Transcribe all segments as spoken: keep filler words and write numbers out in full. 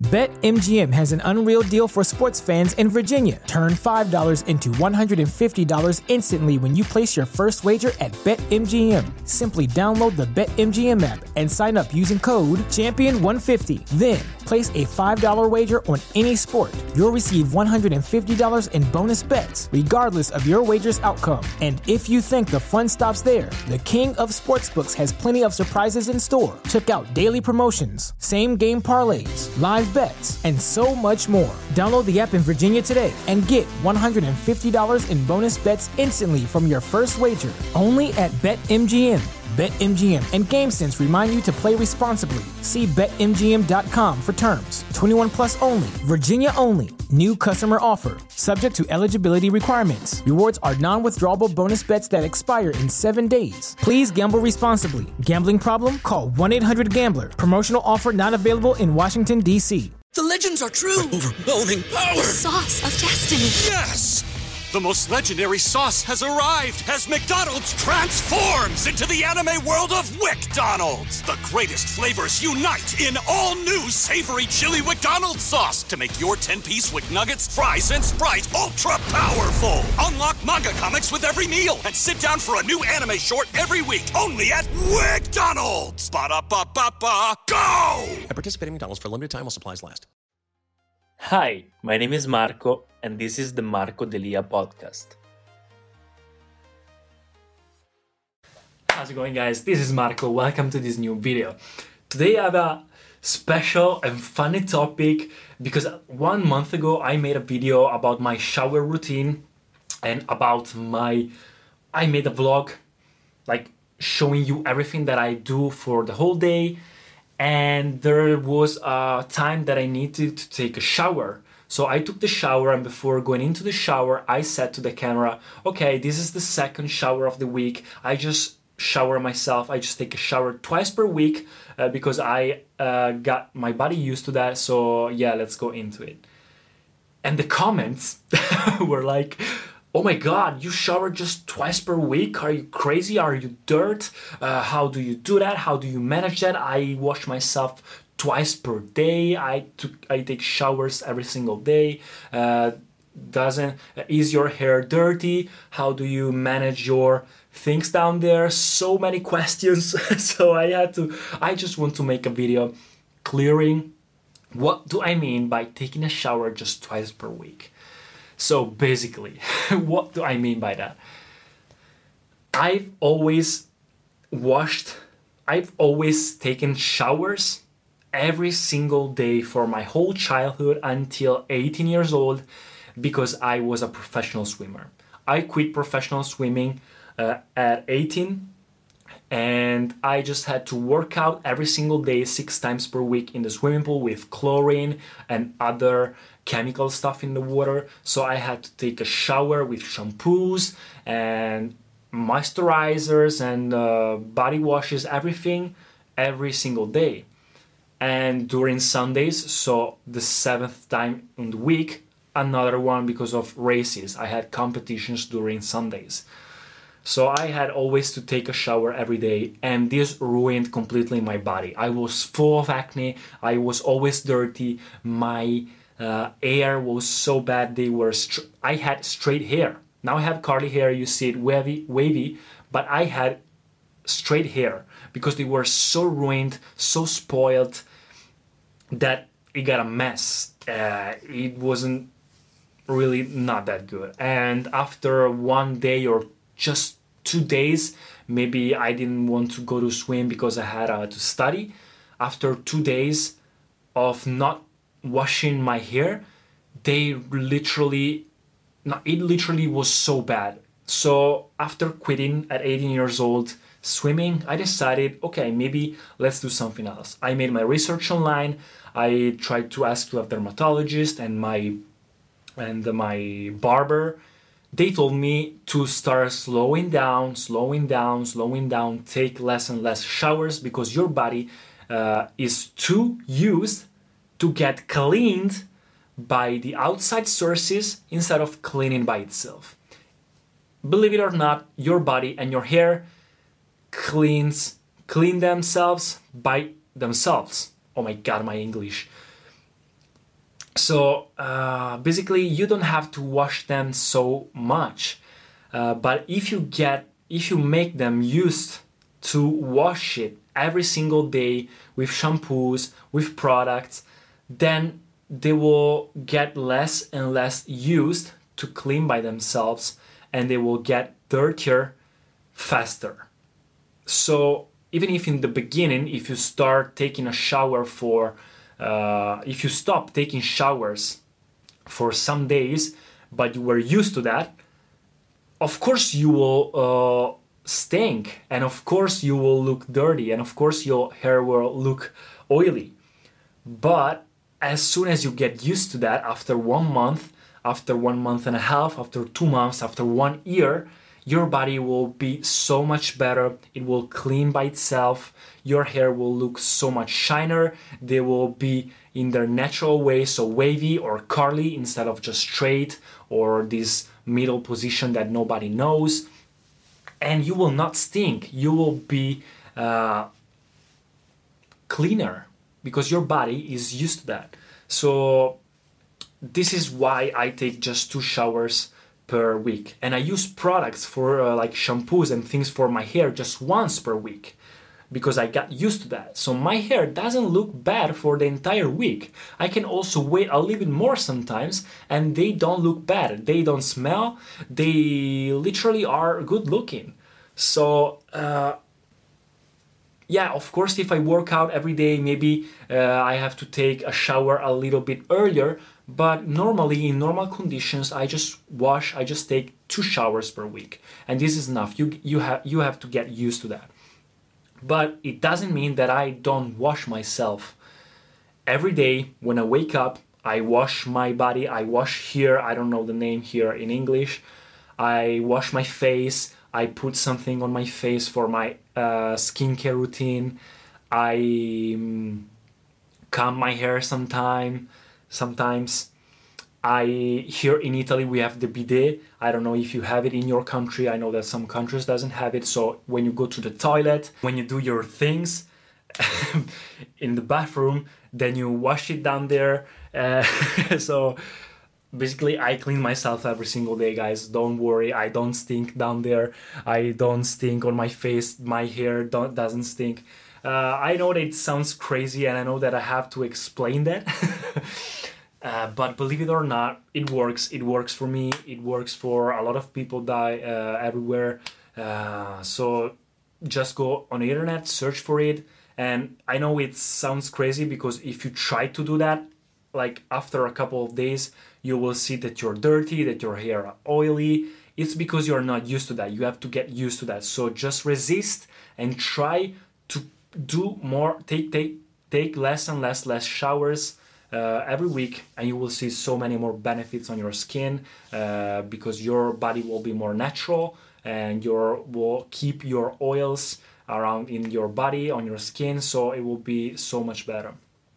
BetMGM has an unreal deal for sports fans in Virginia. Turn five dollars into one hundred fifty dollars instantly when you place your first wager at BetMGM. Simply download the BetMGM app and sign up using code champion one fifty. Then, place a five dollars wager on any sport. You'll receive one hundred fifty dollars in bonus bets, regardless of your wager's outcome. And if you think the fun stops there, the King of Sportsbooks has plenty of surprises in store. Check out daily promotions, same-game parlays, live bets, and so much more. Download the app in Virginia today and get one hundred fifty dollars in bonus bets instantly from your first wager. Only at BetMGM. BetMGM and GameSense remind you to play responsibly. See Bet M G M dot com for terms. twenty-one plus only. Virginia only. New customer offer. Subject to eligibility requirements. Rewards are non-withdrawable bonus bets that expire in seven days. Please gamble responsibly. Gambling problem? Call one eight hundred gambler. Promotional offer not available in Washington, D C The legends are true. Overwhelming power! The sauce of destiny. Yes! The most legendary sauce has arrived as McDonald's transforms into the anime world of WickDonald's. The greatest flavors unite in all new savory chili McDonald's sauce to make your ten-piece Wick Nuggets, fries, and Sprite ultra-powerful. Unlock manga comics with every meal and sit down for a new anime short every week only at WickDonald's. Ba-da-ba-ba-ba, go! At participating McDonald's for a limited time while supplies last. Hi, my name is Marco, and this is the Marco Delia podcast. How's it going, guys? This is Marco. Welcome to this new video. Today I have a special and funny topic because one month ago I made a video about my shower routine and about my... I made a vlog, like showing you everything that I do for the whole day. And there was a time that I needed to take a shower. So I took the shower, and before going into the shower, I said to the camera, okay, this is the second shower of the week. I just shower myself. I just take a shower twice per week uh, because I uh, got my body used to that. So yeah, let's go into it. And the comments were like, oh my God, you shower just twice per week? Are you crazy? Are you dirt? Uh, how do you do that? How do you manage that? I wash myself twice per day. I took, I take showers every single day. Uh, doesn't is your hair dirty? How do you manage your things down there? So many questions. So I had to. I just want to make a video clearing what do I mean by taking a shower just twice per week. So basically, what do I mean by that? I've always washed, I've always taken showers every single day for my whole childhood until eighteen years old because I was a professional swimmer. I quit professional swimming uh, at eighteen and I just had to work out every single day, six times per week in the swimming pool with chlorine and other chemical stuff in the water. So I had to take a shower with shampoos and moisturizers and uh, body washes, everything, every single day. And during Sundays, so the seventh time in the week, another one because of races. I had competitions during Sundays. So I had always to take a shower every day, and this ruined completely my body. I was full of acne, I was always dirty, my uh, hair was so bad, they were str- I had straight hair. Now I have curly hair, you see it wavy, wavy, but I had straight hair because they were so ruined, so spoiled, that it got a mess. Uh, it wasn't really not that good. And after one day or just two days, maybe I didn't want to go to swim because I had uh, to study. After two days of not washing my hair, they literally, no, it literally was so bad. So after quitting at eighteen years old swimming, I decided, okay, maybe let's do something else. I made my research online. I tried to ask to a dermatologist and my and my barber. They told me to start slowing down, slowing down, slowing down, take less and less showers because your body uh, is too used to get cleaned by the outside sources instead of cleaning by itself. Believe it or not, your body and your hair cleans clean themselves by themselves. Oh my God, my English. So uh, basically, you don't have to wash them so much. Uh, but if you get, if you make them used to wash it every single day with shampoos, with products, then they will get less and less used to clean by themselves, and they will get dirtier faster. So even if in the beginning, if you start taking a shower for, uh, if you stop taking showers for some days, but you were used to that, of course you will uh, stink, and of course you will look dirty, and of course your hair will look oily. But as soon as you get used to that, after one month, after one month and a half, after two months, after one year, your body will be so much better. It will clean by itself. Your hair will look so much shinier. They will be in their natural way, so wavy or curly instead of just straight or this middle position that nobody knows. And you will not stink. You will be uh, cleaner, because your body is used to that. So this is why I take just two showers per week. And I use products for uh, like shampoos and things for my hair just once per week, because I got used to that. So my hair doesn't look bad for the entire week. I can also wait a little bit more sometimes, and they don't look bad. They don't smell. They literally are good looking. So uh, yeah, of course, if I work out every day, maybe uh, I have to take a shower a little bit earlier. But normally, in normal conditions, I just wash, I just take two showers per week. And this is enough. You, you, have, you have to get used to that. But it doesn't mean that I don't wash myself. Every day when I wake up, I wash my body. I wash here, I don't know the name here in English. I wash my face. I put something on my face for my uh, skincare routine. I um, comb my hair sometime, sometimes. I here in Italy we have the bidet. I don't know if you have it in your country. I know that some countries doesn't have it. So when you go to the toilet, when you do your things in the bathroom, then you wash it down there. Uh, so basically, I clean myself every single day, guys. Don't worry, I don't stink down there. I don't stink on my face. My hair don't, doesn't stink. Uh, I know that it sounds crazy, and I know that I have to explain that. uh, but believe it or not, it works. It works for me. It works for a lot of people die uh, everywhere. Uh, so just go on the internet, search for it. And I know it sounds crazy, because if you try to do that, like after a couple of days, you will see that you're dirty, that your hair are oily. It's because you're not used to that. You have to get used to that. So just resist and try to do more, take take take less and less less showers uh, every week, and you will see so many more benefits on your skin, uh, because your body will be more natural, and your will keep your oils around in your body, on your skin, so it will be so much better.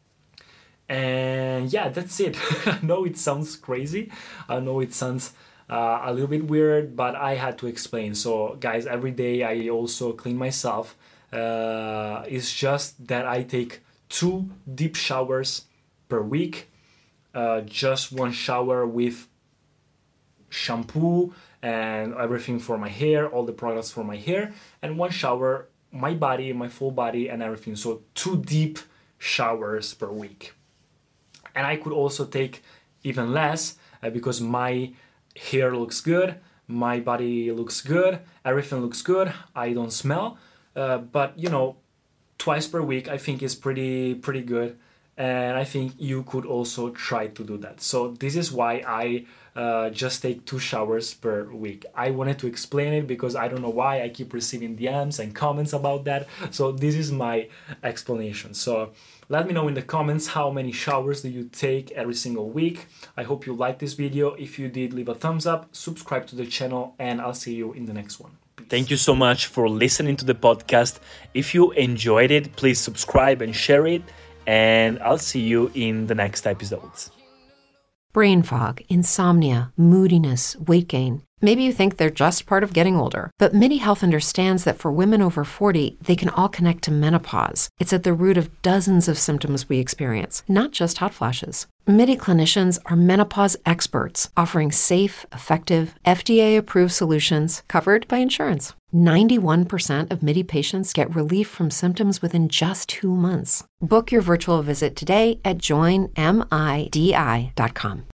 And yeah, that's it. I know it sounds crazy. I know it sounds uh, a little bit weird, but I had to explain. So guys, every day I also clean myself. Uh, it's just that I take two deep showers per week. Uh, just one shower with shampoo and everything for my hair, all the products for my hair, and one shower, my body, my full body and everything. So two deep showers per week. And I could also take even less uh, because my hair looks good, my body looks good, everything looks good, I don't smell. Uh, but, you know, twice per week I think is pretty pretty good. And I think you could also try to do that. So this is why I uh, just take two showers per week. I wanted to explain it because I don't know why I keep receiving D Ms and comments about that. So this is my explanation. So let me know in the comments how many showers do you take every single week. I hope you liked this video. If you did, leave a thumbs up, subscribe to the channel, and I'll see you in the next one. Peace. Thank you so much for listening to the podcast. If you enjoyed it, please subscribe and share it. And I'll see you in the next episodes. Brain fog, insomnia, moodiness, weight gain. Maybe you think they're just part of getting older, but MIDI Health understands that for women over forty, they can all connect to menopause. It's at the root of dozens of symptoms we experience, not just hot flashes. MIDI clinicians are menopause experts, offering safe, effective, F D A-approved solutions covered by insurance. ninety-one percent of MIDI patients get relief from symptoms within just two months. Book your virtual visit today at join midi dot com.